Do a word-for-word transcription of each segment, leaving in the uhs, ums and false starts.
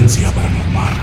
Frecuencia Paranormal.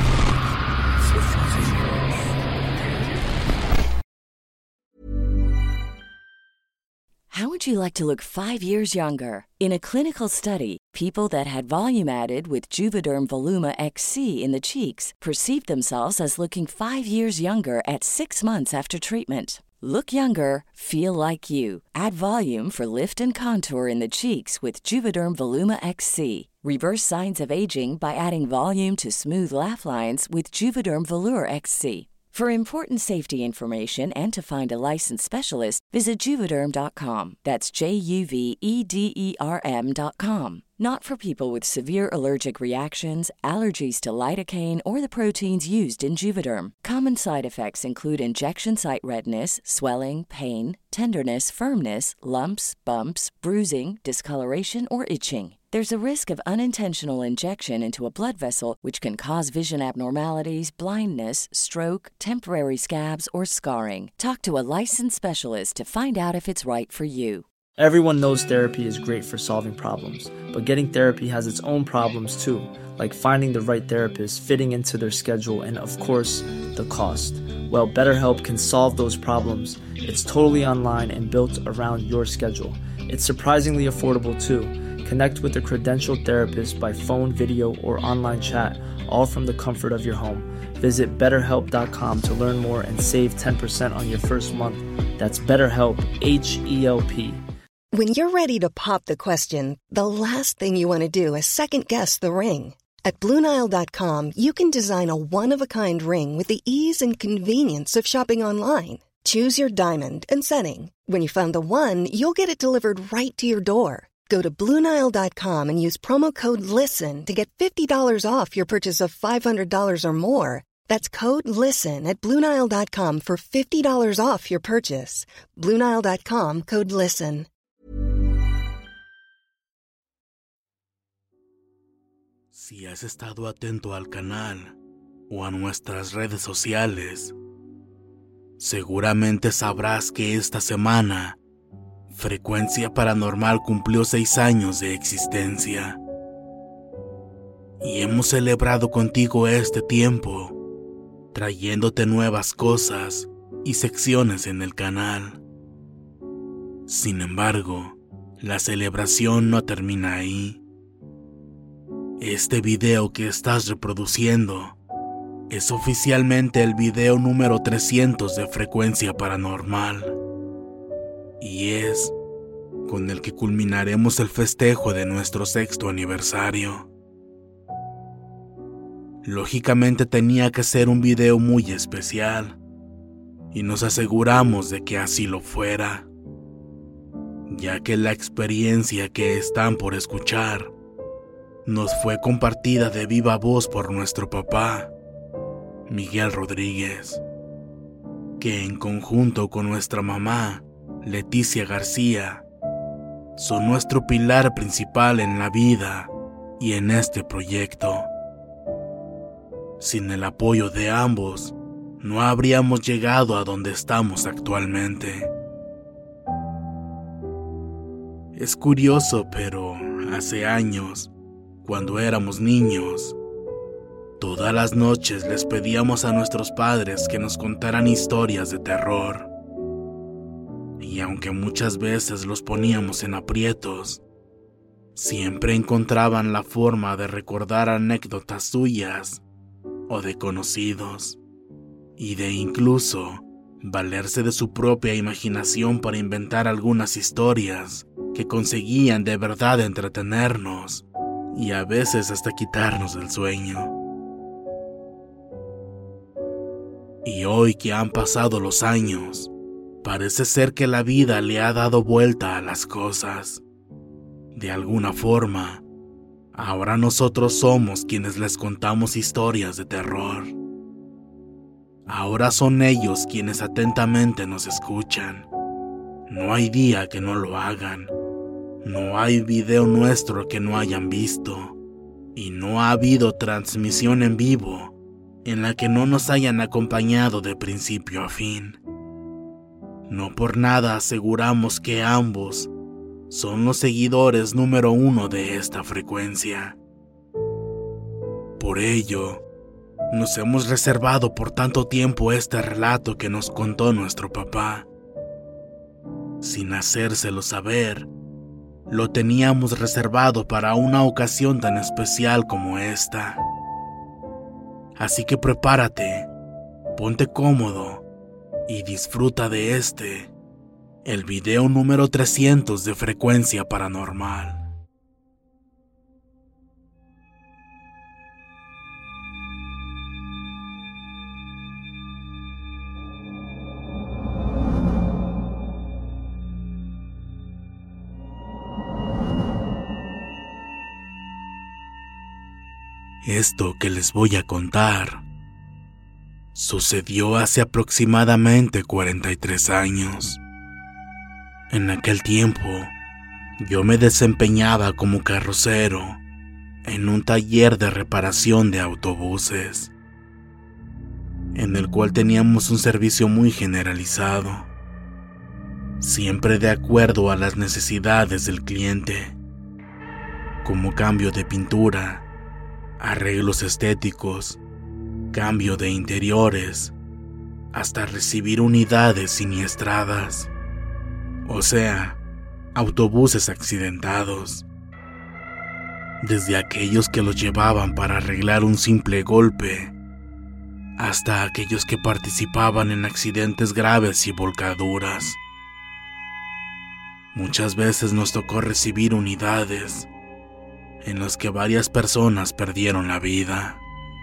How would you like to look five years younger? In a clinical study, people that had volume added with Juvederm Voluma X C in the cheeks perceived themselves as looking five years younger at six months after treatment. Look younger, feel like you. Add volume for lift and contour in the cheeks with Juvederm Voluma X C. Reverse signs of aging by adding volume to smooth laugh lines with Juvederm Volure X C. For important safety information and to find a licensed specialist, visit Juvederm dot com. That's J U V E D E R M dot com. Not for people with severe allergic reactions, allergies to lidocaine, or the proteins used in Juvederm. Common side effects include injection site redness, swelling, pain, tenderness, firmness, lumps, bumps, bruising, discoloration, or itching. There's a risk of unintentional injection into a blood vessel, which can cause vision abnormalities, blindness, stroke, temporary scabs, or scarring. Talk to a licensed specialist to find out if it's right for you. Everyone knows therapy is great for solving problems, but getting therapy has its own problems too, like finding the right therapist, fitting into their schedule, and of course, the cost. Well, BetterHelp can solve those problems. It's totally online and built around your schedule. It's surprisingly affordable too. Connect with a credentialed therapist by phone, video, or online chat, all from the comfort of your home. Visit better help dot com to learn more and save ten percent on your first month. That's BetterHelp, H E L P. When you're ready to pop the question, the last thing you want to do is second-guess the ring. At Blue Nile dot com, you can design a one-of-a-kind ring with the ease and convenience of shopping online. Choose your diamond and setting. When you find the one, you'll get it delivered right to your door. Go to Blue Nile dot com and use promo code LISTEN to get fifty dollars off your purchase of five hundred dollars or more. That's code LISTEN at Blue Nile dot com for fifty dollars off your purchase. Blue Nile dot com, code LISTEN. Si has estado atento al canal o a nuestras redes sociales, seguramente sabrás que esta semana Frecuencia Paranormal cumplió seis años de existencia. Y hemos celebrado contigo este tiempo, trayéndote nuevas cosas y secciones en el canal. Sin embargo, la celebración no termina ahí. Este video que estás reproduciendo es oficialmente el video número trescientos de Frecuencia Paranormal. Y es con el que culminaremos el festejo de nuestro sexto aniversario. Lógicamente tenía que ser un video muy especial, y nos aseguramos de que así lo fuera, ya que la experiencia que están por escuchar nos fue compartida de viva voz por nuestro papá, Miguel Rodríguez, que en conjunto con nuestra mamá, Leticia García, son nuestro pilar principal en la vida y en este proyecto. Sin el apoyo de ambos, no habríamos llegado a donde estamos actualmente. Es curioso, pero hace años, cuando éramos niños, todas las noches les pedíamos a nuestros padres que nos contaran historias de terror. Y aunque muchas veces los poníamos en aprietos, siempre encontraban la forma de recordar anécdotas suyas o de conocidos, y de incluso valerse de su propia imaginación para inventar algunas historias que conseguían de verdad entretenernos y a veces hasta quitarnos el sueño. Y hoy que han pasado los años, parece ser que la vida le ha dado vuelta a las cosas. De alguna forma, ahora nosotros somos quienes les contamos historias de terror. Ahora son ellos quienes atentamente nos escuchan. No hay día que no lo hagan. No hay video nuestro que no hayan visto. Y no ha habido transmisión en vivo en la que no nos hayan acompañado de principio a fin. No por nada aseguramos que ambos son los seguidores número uno de esta frecuencia. Por ello, nos hemos reservado por tanto tiempo este relato que nos contó nuestro papá. Sin hacérselo saber, lo teníamos reservado para una ocasión tan especial como esta. Así que prepárate, ponte cómodo y disfruta de este, el video número trescientos de Frecuencia Paranormal. Esto que les voy a contar sucedió hace aproximadamente cuarenta y tres años. En aquel tiempo, yo me desempeñaba como carrocero en un taller de reparación de autobuses, en el cual teníamos un servicio muy generalizado, siempre de acuerdo a las necesidades del cliente, como cambio de pintura, arreglos estéticos, cambio de interiores, hasta recibir unidades siniestradas, o sea, autobuses accidentados. Desde aquellos que los llevaban para arreglar un simple golpe, hasta aquellos que participaban en accidentes graves y volcaduras. Muchas veces nos tocó recibir unidades en las que varias personas perdieron la vida.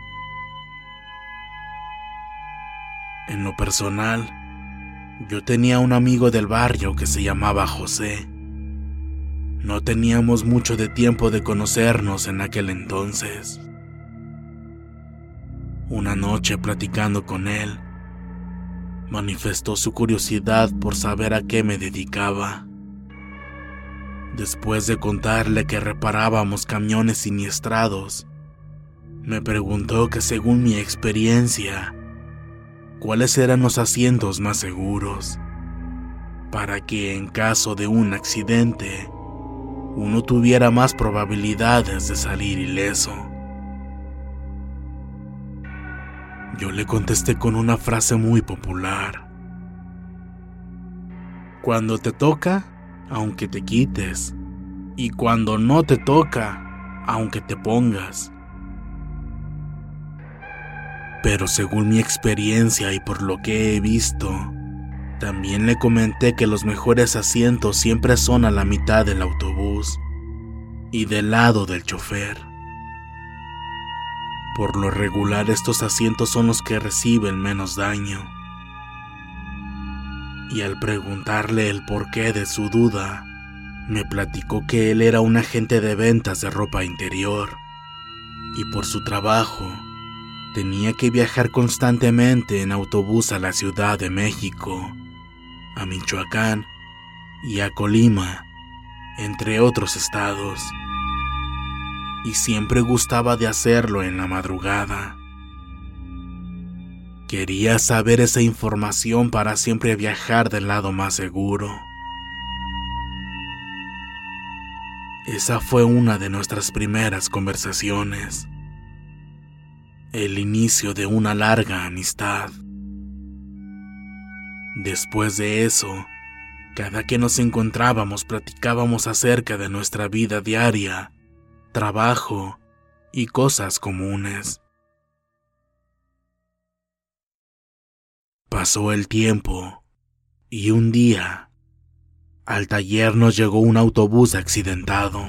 En lo personal, yo tenía un amigo del barrio que se llamaba José. No teníamos mucho de tiempo de conocernos en aquel entonces. Una noche, platicando con él, manifestó su curiosidad por saber a qué me dedicaba. Después de contarle que reparábamos camiones siniestrados, me preguntó que según mi experiencia, cuáles eran los asientos más seguros, para que en caso de un accidente, uno tuviera más probabilidades de salir ileso. Yo le contesté con una frase muy popular: cuando te toca, aunque te quites, y cuando no te toca, aunque te pongas. Pero según mi experiencia y por lo que he visto, también le comenté que los mejores asientos siempre son a la mitad del autobús y del lado del chofer. Por lo regular, estos asientos son los que reciben menos daño. Y al preguntarle el porqué de su duda, me platicó que él era un agente de ventas de ropa interior y por su trabajo tenía que viajar constantemente en autobús a la Ciudad de México, a Michoacán y a Colima, entre otros estados, y siempre gustaba de hacerlo en la madrugada. Quería saber esa información para siempre viajar del lado más seguro. Esa fue una de nuestras primeras conversaciones, el inicio de una larga amistad. Después de eso, cada que nos encontrábamos platicábamos acerca de nuestra vida diaria, trabajo y cosas comunes. Pasó el tiempo, y un día, al taller nos llegó un autobús accidentado.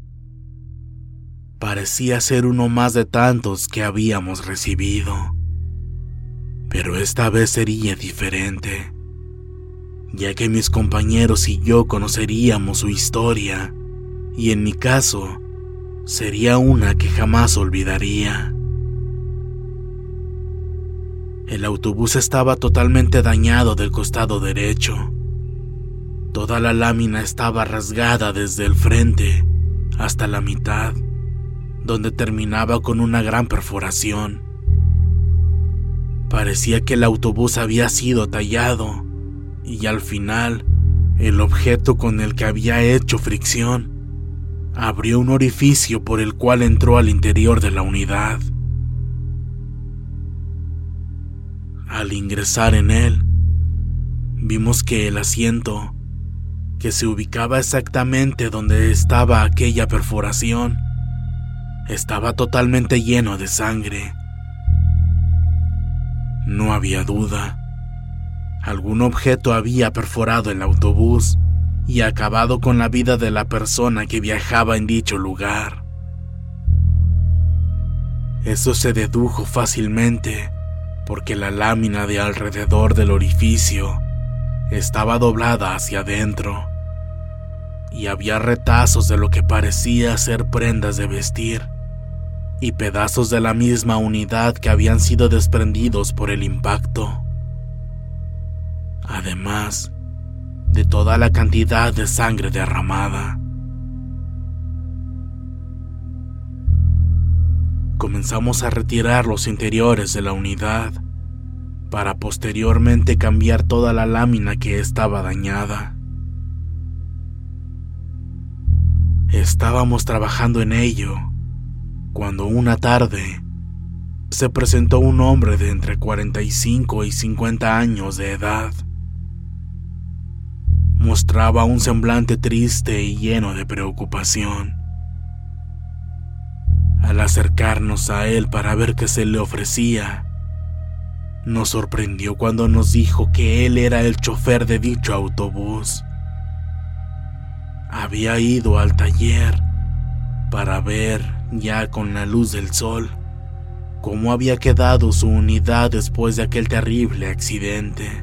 Parecía ser uno más de tantos que habíamos recibido, pero esta vez sería diferente, ya que mis compañeros y yo conoceríamos su historia, y en mi caso, sería una que jamás olvidaría. El autobús estaba totalmente dañado del costado derecho. Toda la lámina estaba rasgada desde el frente hasta la mitad, donde terminaba con una gran perforación. Parecía que el autobús había sido tallado y al final, el objeto con el que había hecho fricción abrió un orificio por el cual entró al interior de la unidad, Al ingresar en él, vimos que el asiento, que se ubicaba exactamente donde estaba aquella perforación, estaba totalmente lleno de sangre. No había duda. Algún objeto había perforado el autobús y acabado con la vida de la persona que viajaba en dicho lugar. Eso se dedujo fácilmente porque la lámina de alrededor del orificio estaba doblada hacia adentro y había retazos de lo que parecía ser prendas de vestir y pedazos de la misma unidad que habían sido desprendidos por el impacto. Además de toda la cantidad de sangre derramada. Comenzamos a retirar los interiores de la unidad para posteriormente cambiar toda la lámina que estaba dañada. Estábamos trabajando en ello cuando una tarde se presentó un hombre de entre cuarenta y cinco y cincuenta años de edad. Mostraba un semblante triste y lleno de preocupación. Al acercarnos a él para ver qué se le ofrecía, nos sorprendió cuando nos dijo que él era el chofer de dicho autobús. Había ido al taller para ver, ya con la luz del sol, cómo había quedado su unidad después de aquel terrible accidente.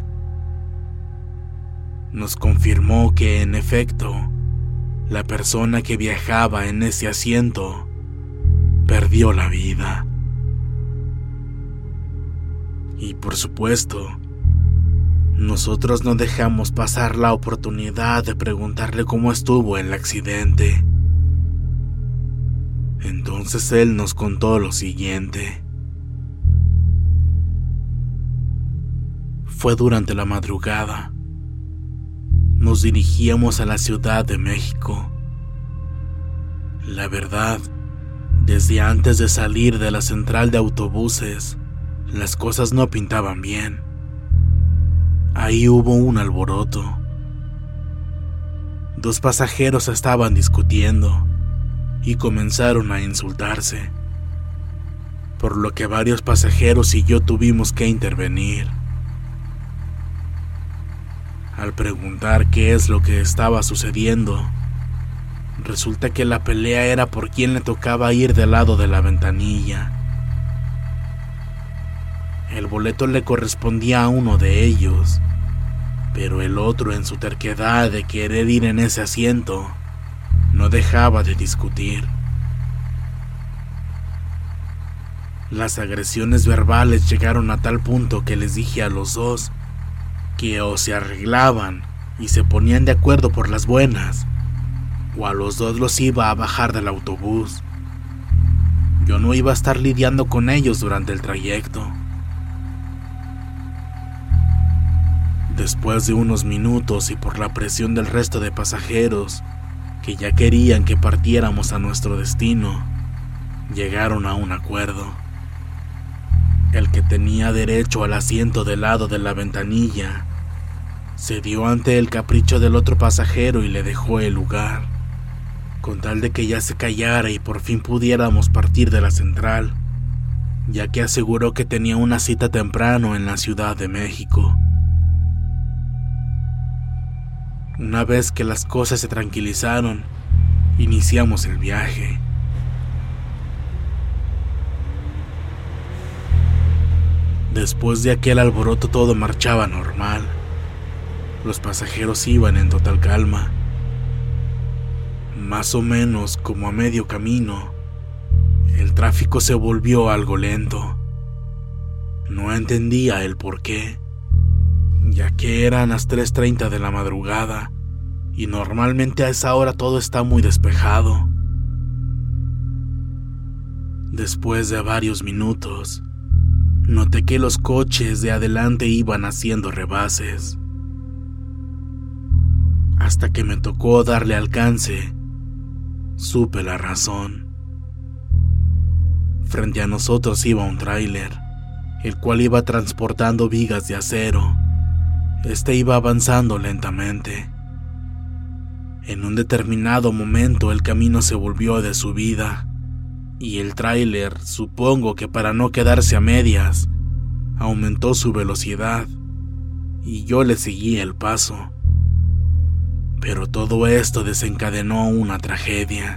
Nos confirmó que, en efecto, la persona que viajaba en ese asiento perdió la vida. Y por supuesto, nosotros no dejamos pasar la oportunidad de preguntarle cómo estuvo el accidente. Entonces él nos contó lo siguiente. Fue durante la madrugada. Nos dirigíamos a la Ciudad de México. La verdad, desde antes de salir de la central de autobuses, las cosas no pintaban bien. Ahí hubo un alboroto. Dos pasajeros estaban discutiendo y comenzaron a insultarse, por lo que varios pasajeros y yo tuvimos que intervenir. Al preguntar qué es lo que estaba sucediendo, resulta que la pelea era por quién le tocaba ir del lado de la ventanilla. El boleto le correspondía a uno de ellos, pero el otro, en su terquedad de querer ir en ese asiento, no dejaba de discutir. Las agresiones verbales llegaron a tal punto que les dije a los dos que o se arreglaban y se ponían de acuerdo por las buenas, o a los dos los iba a bajar del autobús. Yo no iba a estar lidiando con ellos durante el trayecto. Después de unos minutos y por la presión del resto de pasajeros, que ya querían que partiéramos a nuestro destino, llegaron a un acuerdo. El que tenía derecho al asiento del lado de la ventanilla cedió ante el capricho del otro pasajero y le dejó el lugar, con tal de que ya se callara y por fin pudiéramos partir de la central, ya que aseguró que tenía una cita temprano en la Ciudad de México. Una vez que las cosas se tranquilizaron, iniciamos el viaje. Después de aquel alboroto todo marchaba normal. Los pasajeros iban en total calma. Más o menos como a medio camino, el tráfico se volvió algo lento. No entendía el por qué, ya que eran las tres treinta de la madrugada y normalmente a esa hora todo está muy despejado. Después de varios minutos, noté que los coches de adelante iban haciendo rebases. Hasta que me tocó darle alcance, supe la razón. Frente a nosotros iba un tráiler, el cual iba transportando vigas de acero. Este iba avanzando lentamente. En un determinado momento el camino se volvió de subida, y el tráiler, supongo que para no quedarse a medias, aumentó su velocidad, y yo le seguí el paso. Pero todo esto desencadenó una tragedia.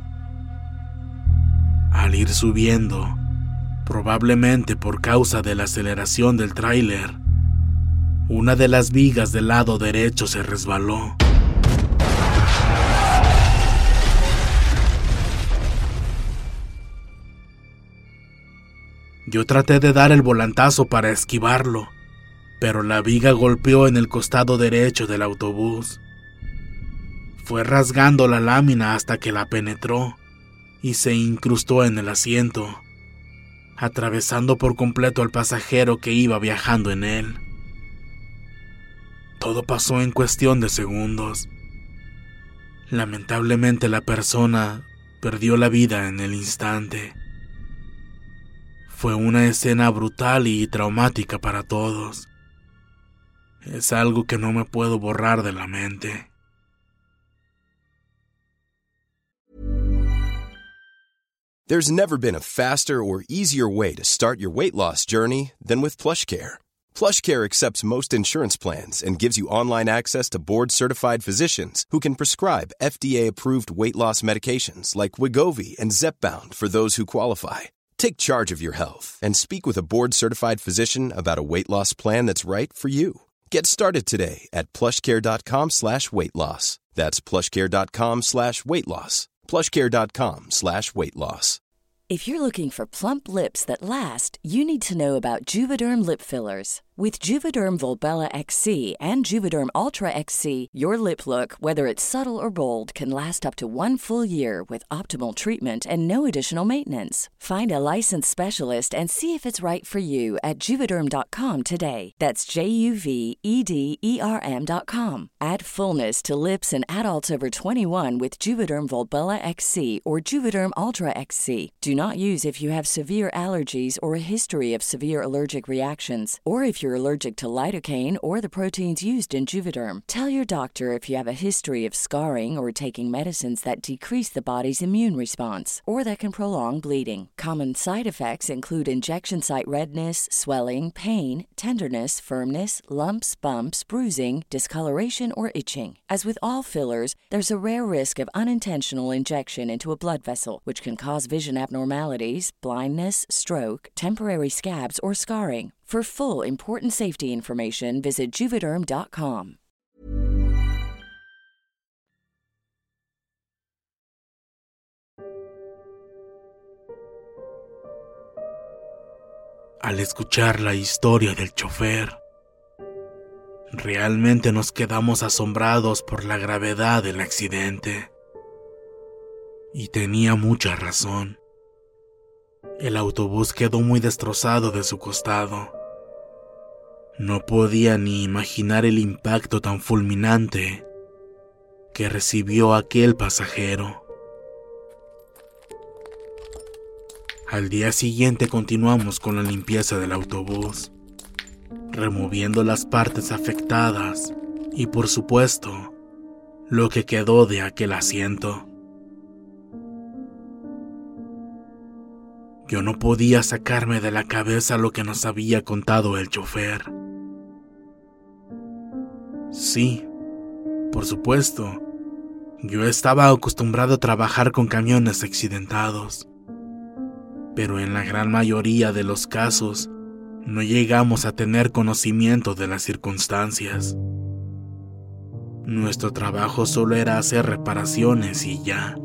Al ir subiendo, probablemente por causa de la aceleración del tráiler, una de las vigas del lado derecho se resbaló. Yo traté de dar el volantazo para esquivarlo, pero la viga golpeó en el costado derecho del autobús. Fue rasgando la lámina hasta que la penetró y se incrustó en el asiento, atravesando por completo al pasajero que iba viajando en él. Todo pasó en cuestión de segundos. Lamentablemente la persona perdió la vida en el instante. Fue una escena brutal y traumática para todos. Es algo que no me puedo borrar de la mente. There's never been a faster or easier way to start your weight loss journey than with PlushCare. PlushCare accepts most insurance plans and gives you online access to board-certified physicians who can prescribe F D A-approved weight loss medications like Wegovy and Zepbound for those who qualify. Take charge of your health and speak with a board-certified physician about a weight loss plan that's right for you. Get started today at plushcare.com slash weight loss. That's plushcare.com slash weight loss. plushcare.com slash weight loss. If you're looking for plump lips that last, you need to know about Juvederm lip fillers. With Juvederm Volbella X C and Juvederm Ultra X C, your lip look, whether it's subtle or bold, can last up to one full year with optimal treatment and no additional maintenance. Find a licensed specialist and see if it's right for you at Juvederm dot com today. That's J U V E D E R M dot com. Add fullness to lips in adults over twenty-one with Juvederm Volbella X C or Juvederm Ultra X C. Do not use if you have severe allergies or a history of severe allergic reactions, or if you're allergic to lidocaine or the proteins used in Juvederm. Tell your doctor if you have a history of scarring or taking medicines that decrease the body's immune response or that can prolong bleeding. Common side effects include injection site redness, swelling, pain, tenderness, firmness, lumps, bumps, bruising, discoloration, or itching. As with all fillers, there's a rare risk of unintentional injection into a blood vessel, which can cause vision abnormalities, blindness, stroke, temporary scabs, or scarring. For full important safety information, visit Juvederm dot com. Al escuchar la historia del chofer, realmente nos quedamos asombrados por la gravedad del accidente. Y tenía mucha razón. El autobús quedó muy destrozado de su costado. No podía ni imaginar el impacto tan fulminante que recibió aquel pasajero. Al día siguiente continuamos con la limpieza del autobús, removiendo las partes afectadas y, por supuesto, lo que quedó de aquel asiento. Yo no podía sacarme de la cabeza lo que nos había contado el chofer. Sí, por supuesto, yo estaba acostumbrado a trabajar con camiones accidentados, pero en la gran mayoría de los casos no llegamos a tener conocimiento de las circunstancias. Nuestro trabajo solo era hacer reparaciones y ya.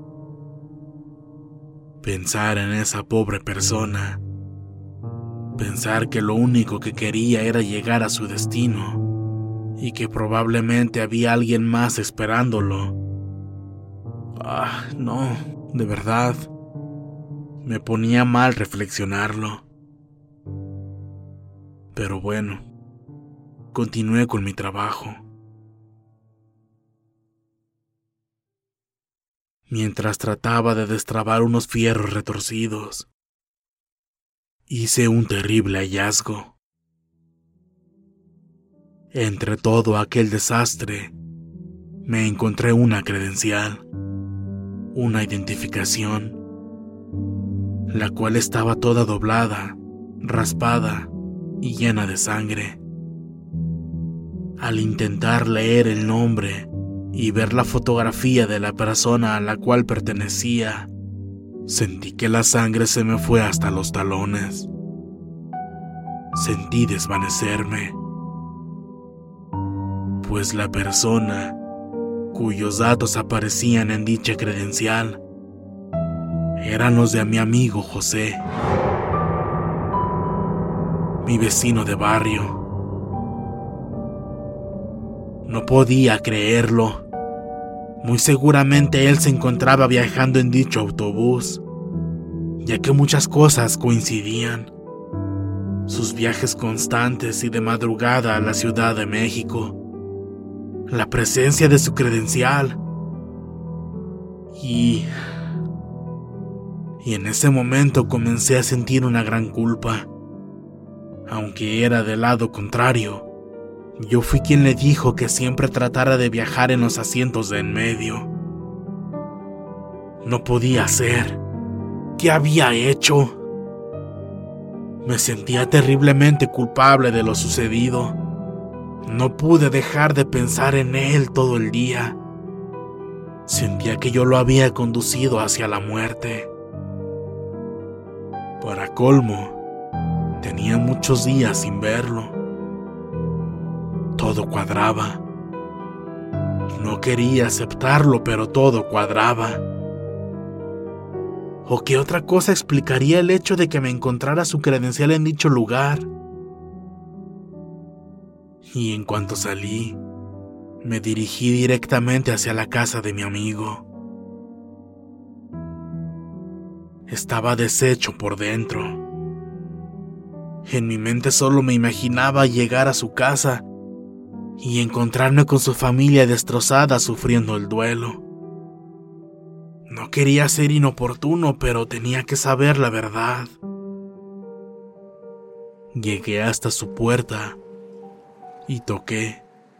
Pensar en esa pobre persona, pensar que lo único que quería era llegar a su destino y que probablemente había alguien más esperándolo. Ah, no, de verdad, me ponía mal reflexionarlo. Pero bueno, continué con mi trabajo. Mientras trataba de destrabar unos fierros retorcidos, hice un terrible hallazgo. Entre todo aquel desastre, me encontré una credencial, una identificación, la cual estaba toda doblada, raspada y llena de sangre. Al intentar leer el nombre y ver la fotografía de la persona a la cual pertenecía, sentí que la sangre se me fue hasta los talones. Sentí desvanecerme, pues la persona cuyos datos aparecían en dicha credencial eran los de mi amigo José, mi vecino de barrio. No podía creerlo. Muy seguramente él se encontraba viajando en dicho autobús, ya que muchas cosas coincidían. Sus viajes constantes y de madrugada a la Ciudad de México, la presencia de su credencial, y... Y en ese momento comencé a sentir una gran culpa. Aunque era del lado contrario, yo fui quien le dijo que siempre tratara de viajar en los asientos de en medio. No podía ser. ¿Qué había hecho? Me sentía terriblemente culpable de lo sucedido. No pude dejar de pensar en él todo el día. Sentía que yo lo había conducido hacia la muerte. Para colmo, tenía muchos días sin verlo. Todo cuadraba. No quería aceptarlo, pero todo cuadraba. ¿O qué otra cosa explicaría el hecho de que me encontrara su credencial en dicho lugar? Y en cuanto salí, me dirigí directamente hacia la casa de mi amigo. Estaba deshecho por dentro. En mi mente solo me imaginaba llegar a su casa y encontrarme con su familia destrozada sufriendo el duelo. No quería ser inoportuno, pero tenía que saber la verdad. Llegué hasta su puerta y toqué.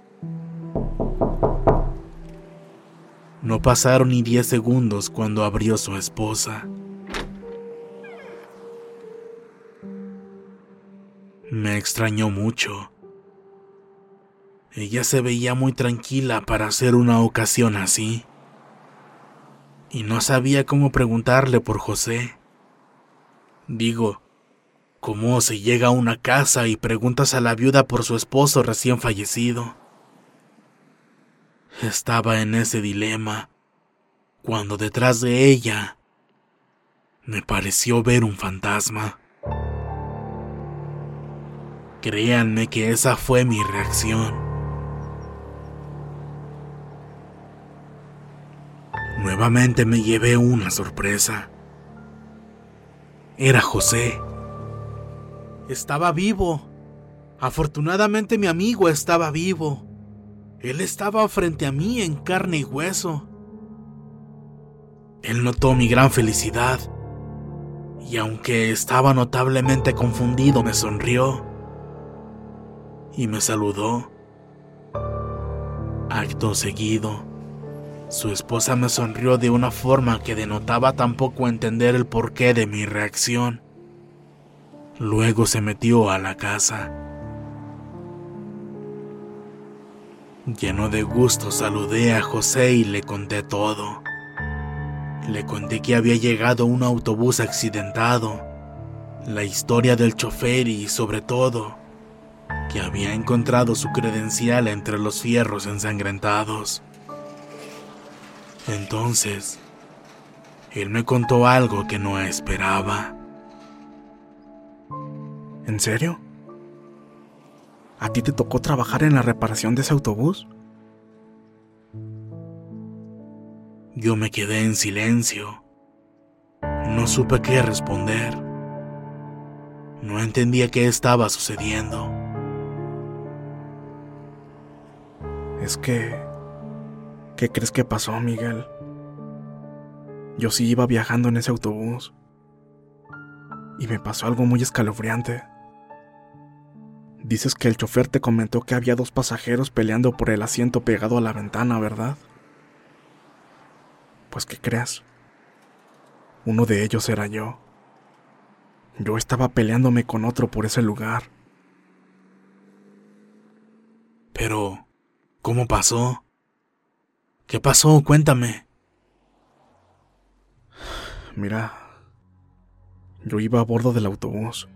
No pasaron ni diez segundos cuando abrió su esposa. Me extrañó mucho. Ella se veía muy tranquila para hacer una ocasión así. Y no sabía cómo preguntarle por José. Digo, ¿cómo se llega a una casa y preguntas a la viuda por su esposo recién fallecido? Estaba en ese dilema, cuando detrás de ella me pareció ver un fantasma. Créanme que esa fue mi reacción. Nuevamente me llevé una sorpresa. Era José. Estaba vivo. Afortunadamente mi amigo estaba vivo. Él estaba frente a mí en carne y hueso. Él notó mi gran felicidad, y aunque estaba notablemente confundido, me sonrió y me saludó. Acto seguido, su esposa me sonrió de una forma que denotaba tampoco entender el porqué de mi reacción. Luego se metió a la casa. Lleno de gusto saludé a José y le conté todo. Le conté que había llegado un autobús accidentado, la historia del chofer y, sobre todo, que había encontrado su credencial entre los fierros ensangrentados. Entonces, él me contó algo que no esperaba. ¿En serio? ¿A ti te tocó trabajar en la reparación de ese autobús? Yo me quedé en silencio. No supe qué responder. No entendía qué estaba sucediendo. Es que... ¿Qué crees que pasó, Miguel? Yo sí iba viajando en ese autobús. y me pasó algo muy escalofriante. Dices que el chofer te comentó que había dos pasajeros peleando por el asiento pegado a la ventana, ¿verdad? Pues, ¿qué crees? Uno de ellos era yo. Yo estaba peleándome con otro por ese lugar. Pero, ¿cómo pasó? ¿Qué pasó? Cuéntame. Mira, yo iba a bordo del autobús.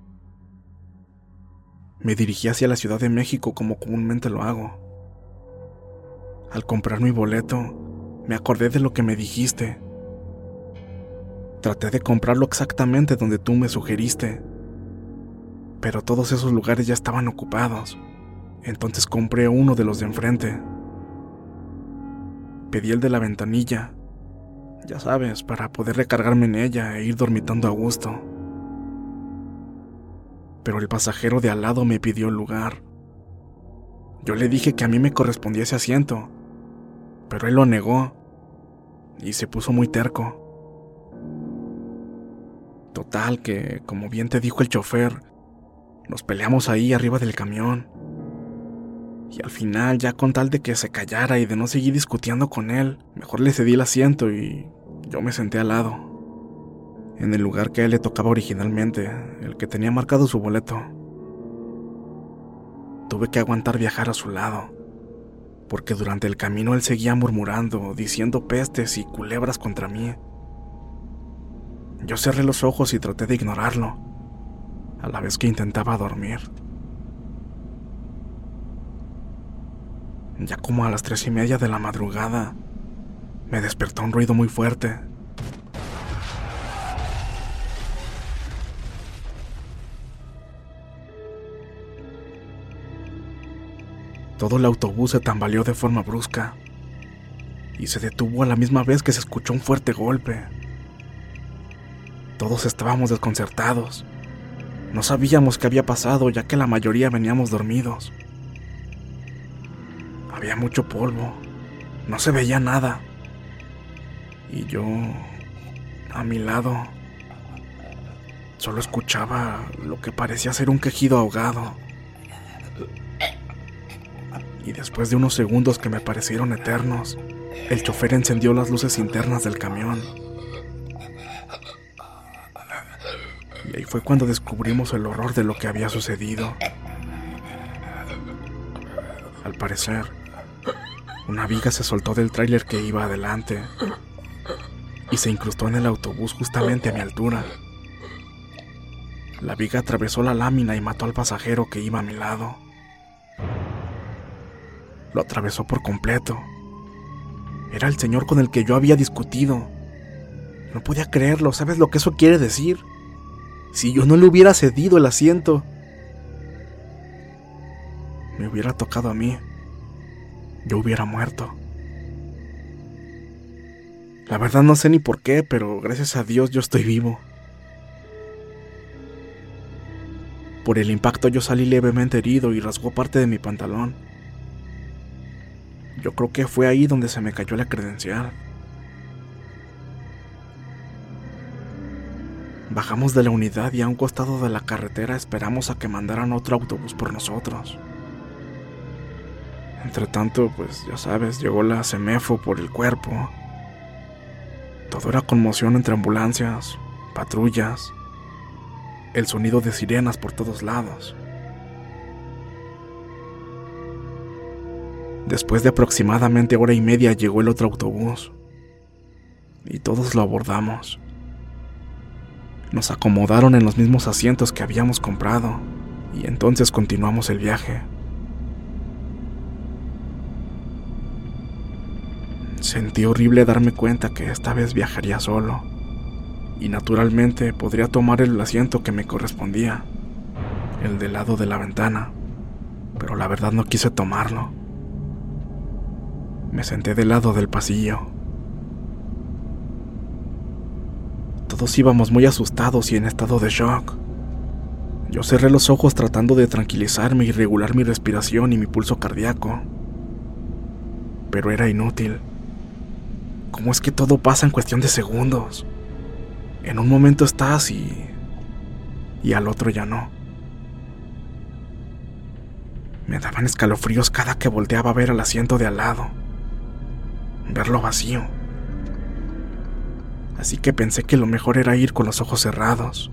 Me dirigí hacia la Ciudad de México como comúnmente lo hago. Al comprar mi boleto, me acordé de lo que me dijiste. Traté de comprarlo exactamente donde tú me sugeriste, pero todos esos lugares ya estaban ocupados. Entonces compré uno de los de enfrente. Pedí el de la ventanilla, ya sabes, para poder recargarme en ella e ir dormitando a gusto. Pero el pasajero de al lado me pidió el lugar. Yo le dije que a mí me correspondía ese asiento, pero él lo negó y se puso muy terco. Total que, como bien te dijo el chofer, nos peleamos ahí arriba del camión. Y al final, ya con tal de que se callara y de no seguir discutiendo con él, mejor le cedí el asiento y yo me senté al lado, en el lugar que a él le tocaba originalmente, el que tenía marcado su boleto. Tuve que aguantar viajar a su lado, porque durante el camino él seguía murmurando, diciendo pestes y culebras contra mí. Yo cerré los ojos y traté de ignorarlo, a la vez que intentaba dormir. Ya como a las tres y media de la madrugada, me despertó un ruido muy fuerte. Todo el autobús se tambaleó de forma brusca y se detuvo a la misma vez que se escuchó un fuerte golpe. Todos estábamos desconcertados. No sabíamos qué había pasado, ya que la mayoría veníamos dormidos. Había mucho polvo, no se veía nada. Y yo, a mi lado, solo escuchaba lo que parecía ser un quejido ahogado. Y después de unos segundos que me parecieron eternos, el chofer encendió las luces internas del camión. Y ahí fue cuando descubrimos el horror de lo que había sucedido. Al parecer, una viga se soltó del tráiler que iba adelante y se incrustó en el autobús justamente a mi altura. La viga atravesó la lámina y mató al pasajero que iba a mi lado. Lo atravesó por completo. Era el señor con el que yo había discutido. No podía creerlo, ¿sabes lo que eso quiere decir? Si yo no le hubiera cedido el asiento, me hubiera tocado a mí. Yo hubiera muerto. La verdad no sé ni por qué, pero gracias a Dios yo estoy vivo. Por el impacto yo salí levemente herido y rasgó parte de mi pantalón. Yo creo que fue ahí donde se me cayó la credencial. Bajamos de la unidad y a un costado de la carretera esperamos a que mandaran otro autobús por nosotros. Entre tanto, pues ya sabes, llegó la Semefo por el cuerpo. Todo era conmoción entre ambulancias, patrullas, el sonido de sirenas por todos lados. Después de aproximadamente hora y media llegó el otro autobús y todos lo abordamos. Nos acomodaron en los mismos asientos que habíamos comprado y entonces continuamos el viaje. Sentí horrible darme cuenta que esta vez viajaría solo y naturalmente podría tomar el asiento que me correspondía, el del lado de la ventana, pero la verdad no quise tomarlo. Me senté del lado del pasillo. Todos íbamos muy asustados y en estado de shock. Yo cerré los ojos tratando de tranquilizarme y regular mi respiración y mi pulso cardíaco. Pero era inútil. ¿Cómo es que todo pasa en cuestión de segundos? En un momento estás y y al otro ya no. Me daban escalofríos cada que volteaba a ver el asiento de al lado, verlo vacío. Así que pensé que lo mejor era ir con los ojos cerrados.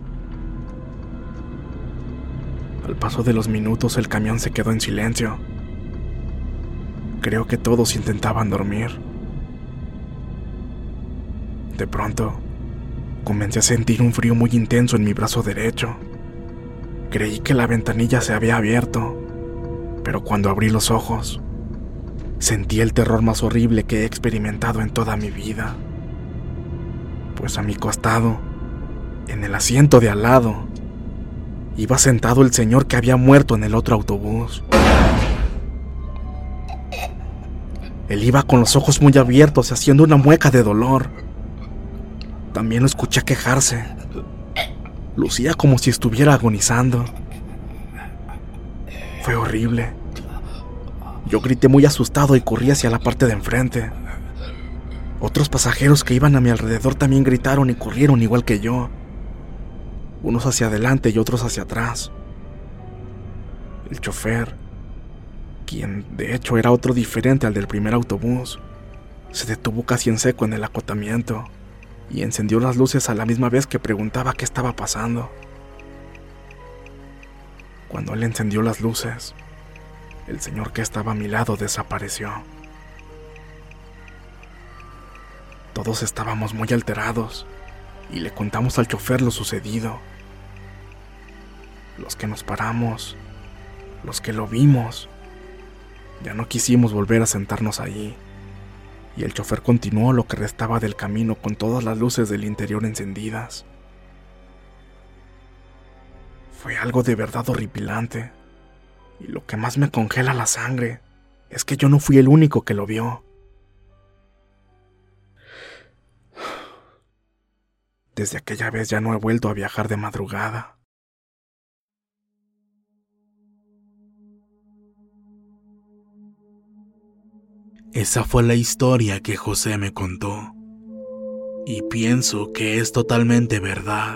Al paso de los minutos el camión se quedó en silencio. Creo que todos intentaban dormir. De pronto, comencé a sentir un frío muy intenso en mi brazo derecho. Creí que la ventanilla se había abierto, pero cuando abrí los ojos, sentí el terror más horrible que he experimentado en toda mi vida. Pues a mi costado, en el asiento de al lado, iba sentado el señor que había muerto en el otro autobús. Él iba con los ojos muy abiertos y haciendo una mueca de dolor. También lo escuché quejarse. Lucía como si estuviera agonizando. Fue horrible. Yo grité muy asustado y corrí hacia la parte de enfrente. Otros pasajeros que iban a mi alrededor también gritaron y corrieron igual que yo. Unos hacia adelante y otros hacia atrás. El chofer, quien de hecho era otro diferente al del primer autobús, se detuvo casi en seco en el acotamiento y encendió las luces a la misma vez que preguntaba qué estaba pasando. Cuando él encendió las luces, el señor que estaba a mi lado desapareció. Todos estábamos muy alterados y le contamos al chofer lo sucedido. Los que nos paramos, los que lo vimos, ya no quisimos volver a sentarnos allí, y el chofer continuó lo que restaba del camino con todas las luces del interior encendidas. Fue algo de verdad horripilante, y lo que más me congela la sangre es que yo no fui el único que lo vio. Desde aquella vez ya no he vuelto a viajar de madrugada. Esa fue la historia que José me contó, y pienso que es totalmente verdad,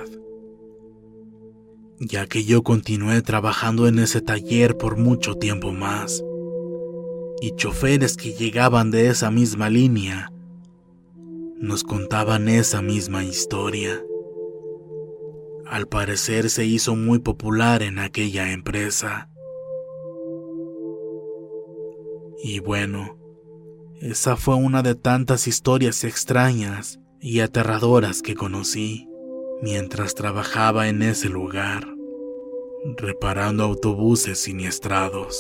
ya que yo continué trabajando en ese taller por mucho tiempo más, y choferes que llegaban de esa misma línea nos contaban esa misma historia. Al parecer se hizo muy popular en aquella empresa. Y bueno, esa fue una de tantas historias extrañas y aterradoras que conocí mientras trabajaba en ese lugar, reparando autobuses siniestrados.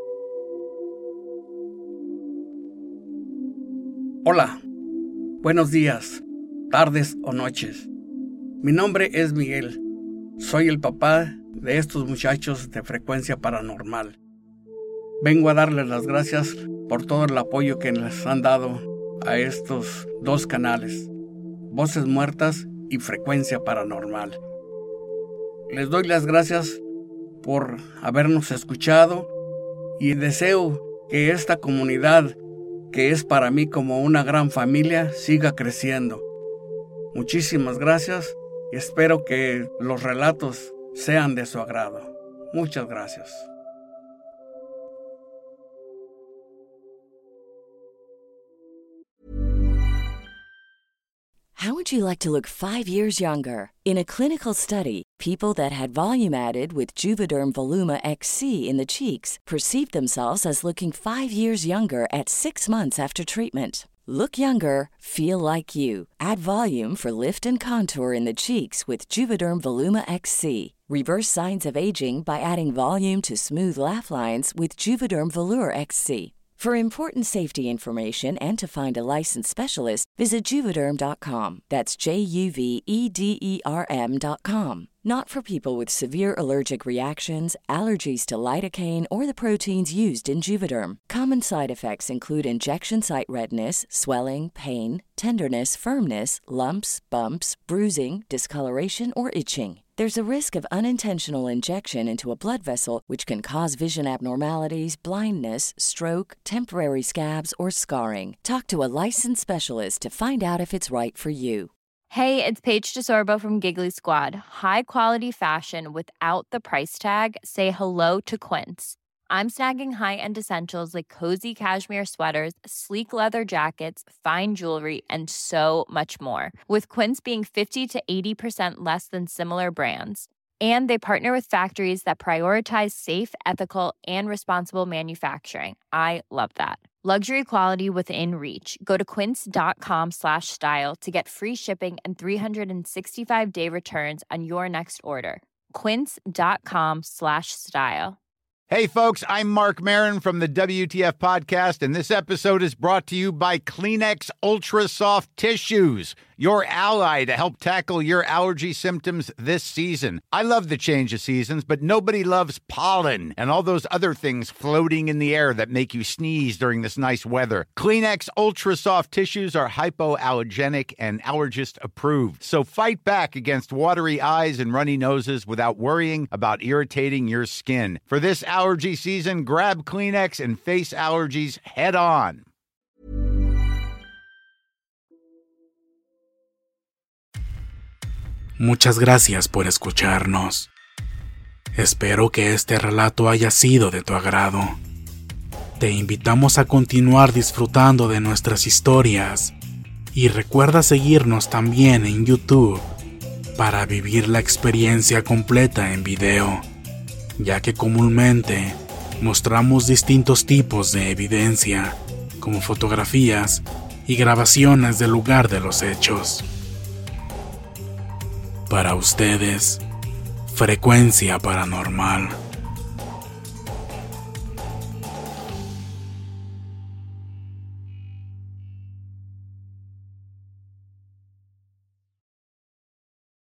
Hola, buenos días, tardes o noches. Mi nombre es Miguel. Soy el papá de estos muchachos de Frecuencia Paranormal. Vengo a darles las gracias por todo el apoyo que les han dado a estos dos canales, Voces Muertas y Frecuencia Paranormal. Les doy las gracias por habernos escuchado y deseo que esta comunidad, que es para mí como una gran familia, siga creciendo. Muchísimas gracias y espero que los relatos sean de su agrado. Muchas gracias. How would you like to look five years younger? In a clinical study, people that had volume added with Juvederm Voluma X C in the cheeks perceived themselves as looking five years younger at six months after treatment. Look younger, feel like you. Add volume for lift and contour in the cheeks with Juvederm Voluma X C. Reverse signs of aging by adding volume to smooth laugh lines with Juvederm Volure X C. For important safety information and to find a licensed specialist, visit Juvederm dot com. That's J U V E D E R M dot com. Not for people with severe allergic reactions, allergies to lidocaine, or the proteins used in Juvederm. Common side effects include injection site redness, swelling, pain, tenderness, firmness, lumps, bumps, bruising, discoloration, or itching. There's a risk of unintentional injection into a blood vessel, which can cause vision abnormalities, blindness, stroke, temporary scabs, or scarring. Talk to a licensed specialist to find out if it's right for you. Hey, it's Paige DeSorbo from Giggly Squad. High quality fashion without the price tag. Say hello to Quince. I'm snagging high-end essentials like cozy cashmere sweaters, sleek leather jackets, fine jewelry, and so much more. With Quince being fifty to eighty percent less than similar brands. And they partner with factories that prioritize safe, ethical, and responsible manufacturing. I love that. Luxury quality within reach. Go to quince.com slash style to get free shipping and three sixty-five day returns on your next order. Quince.com slash style. Hey, folks, I'm Mark Maron from the W T F Podcast, and this episode is brought to you by Kleenex Ultra Soft Tissues, your ally to help tackle your allergy symptoms this season. I love the change of seasons, but nobody loves pollen and all those other things floating in the air that make you sneeze during this nice weather. Kleenex Ultra Soft Tissues are hypoallergenic and allergist approved, so fight back against watery eyes and runny noses without worrying about irritating your skin. For this allergy season, grab Kleenex and face allergies head on. Muchas gracias por escucharnos. Espero que este relato haya sido de tu agrado. Te invitamos a continuar disfrutando de nuestras historias y recuerda seguirnos también en YouTube para vivir la experiencia completa en video, ya que comúnmente mostramos distintos tipos de evidencia, como fotografías y grabaciones del lugar de los hechos. Para ustedes, Frecuencia Paranormal.